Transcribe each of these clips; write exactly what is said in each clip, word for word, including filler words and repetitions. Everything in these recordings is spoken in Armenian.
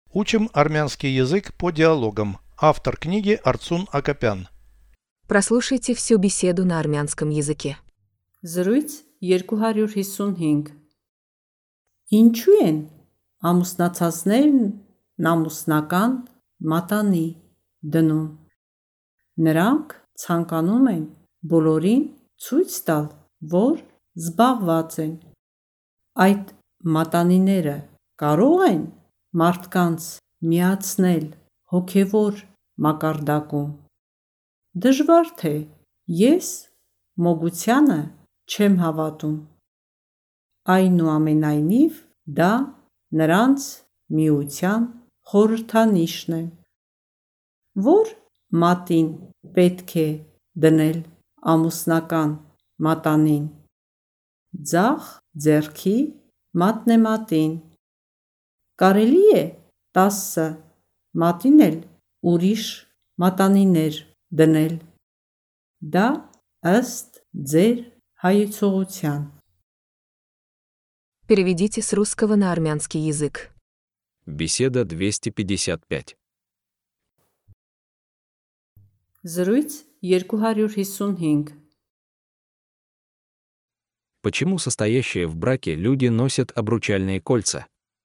Учим армянский язык по диалогам. Автор книги Арцун Акопян. Прослушайте всю беседу на армянском языке. Զրույց երկու հարյուր հիսունհինգ Ինչու են ամուսնացածներն ամուսնական մատանի դնում։ Նրանք ցանկանում են բոլորին ցույց տալ, որ զբաղված են։ Այդ մատանիները կարող են մարդկանց միացնել հոգևոր մակարդակում։ Դժվար թե ես մոգությանը չեմ հավատում։ Այնուամենայնիվ, դա նրանց միության խորհրդանիշն է, որ մատին պետք է դնել ամուսնական մատանին։ Ձախ ձեռքի մատնեմատին։ Կարելի է տասը մատին էլ ուրիշ մատանիներ դնել։ Դա ըստ ձեր հայեցողության։ Переведите с русского на армянский язык. Беседа двести пятьдесят пять. Զրույց երկու հարյուր հիսունհինգ Почему состоящие в браке люди носят обручальные кольца?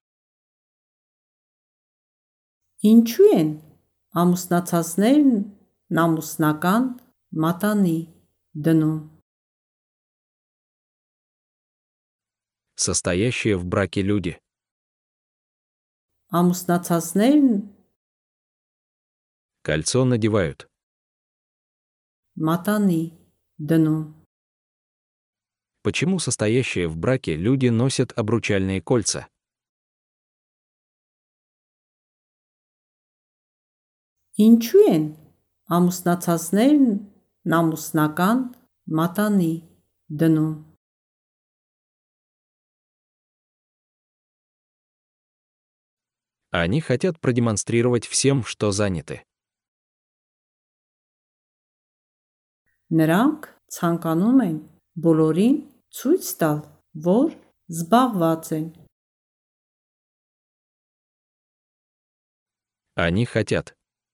Ինչու են ամուսնացածներն ամուսնական մատանի դնում։ Состоящие в браке люди. Ամուսնացածներն Кольцо надевают. մատանի դնում։ Почему состоящие в браке люди носят обручальные кольца? Ինչու են ամուսնացածներն ամուսնական մատանի դնում։ Они хотят продемонстрировать всем, что заняты. Նրանք ցանկանում են բոլորին ցույց տալ, որ զբաղված են։ Они хотят.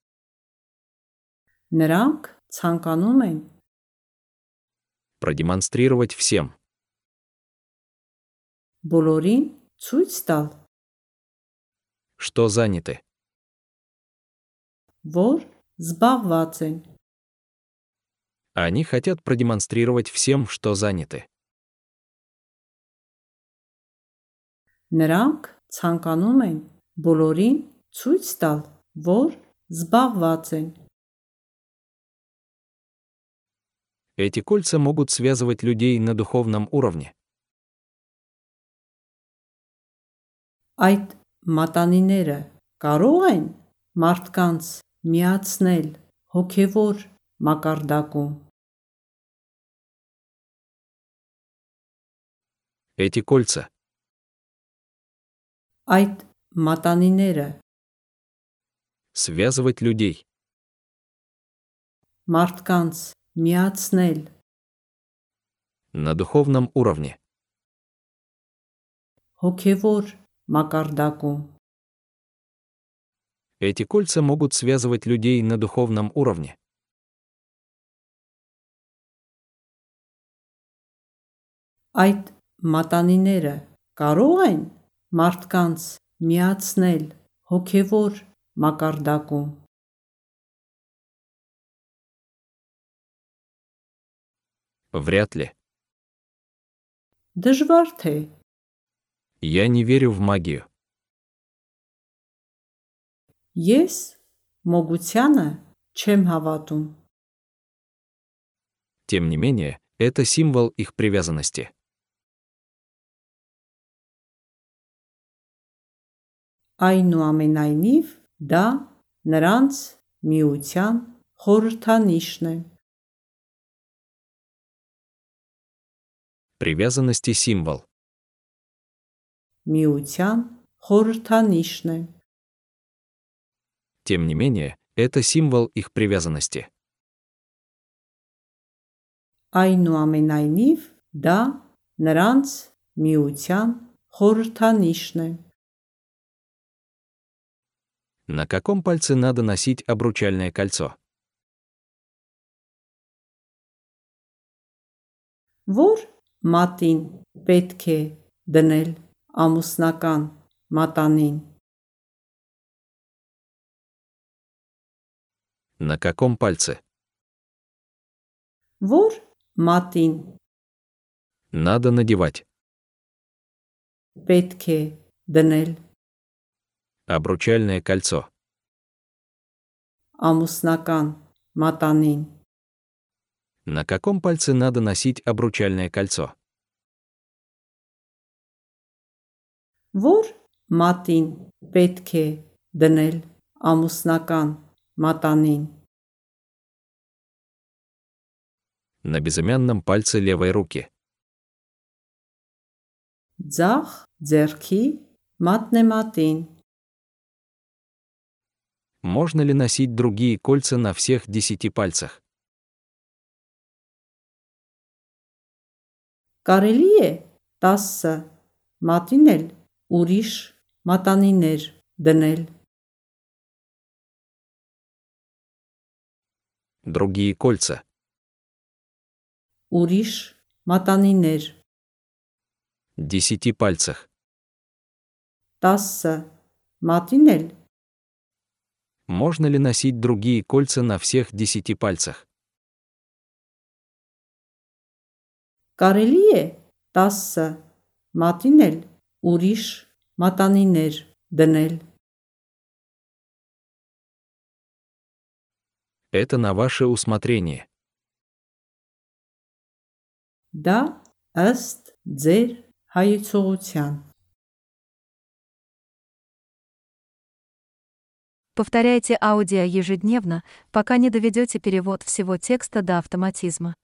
Նրանք ցանկանում են Продемонстрировать всем. բոլորին ցույց տալ, Что заняты. որ զբաղված են։ Они хотят продемонстрировать всем, что заняты. Նրանք ցանկանում են բոլորին ցույց տալ, որ զբաղված են։ Эти кольца могут связывать людей на духовном уровне. Այդ մատանիները կարող են մարդկանց միացնել հոգևոր մակարդակում։ Эти кольца Այդ մատանիները связывать людей մարդկանց միացնել на духовном уровне. հոգևոր մակարդակում։ Эти кольца могут связывать людей на духовном уровне. Այդ մատանիները կարող են մարդկանց միացնել հոգևոր մակարդակում։ Вряд ли. Դժվար թե Я не верю в магию. ես մոգությանը չեմ հավատում։ Тем не менее, это символ их привязанности. Այնուամենայնիվ, դա նրանց միության խորհրդանիշն է։ Привязанности символ. Միության խորհրդանիշն է։ Тем не менее, это символ их привязанности. Այնուամենայնիվ, դա նրանց միության խորհրդանիշն է։ На каком пальце надо носить обручальное кольцо? Որ մատին պետք է դնել ամուսնական մատանին։ На каком пальце? Որ մատին Надо надевать պետք է դնել обручальное кольцо. ամուսնական մատանին։ На каком пальце надо носить обручальное кольцо? Որ մատին պետք է դնել ամուսնական մատանին։ На безымянном пальце левой руки. Ձախ ձեռքի մատնեմատին։ Можно ли носить другие кольца на всех десяти пальцах? Կարելի է տասը մատին էլ ուրիշ մատանիներ դնել։ Другие кольца. Ուրիշ մատանիներ Десяти пальцах. տասը մատին էլ Можно ли носить другие кольца на всех десяти пальцах? կարելի է տասը մատին էլ ուրիշ մատանիներ դնել։ Это на ваше усмотрение. Դա ըստ ձեր հայեցողության։ Повторяйте аудио ежедневно, пока не доведете перевод всего текста до автоматизма.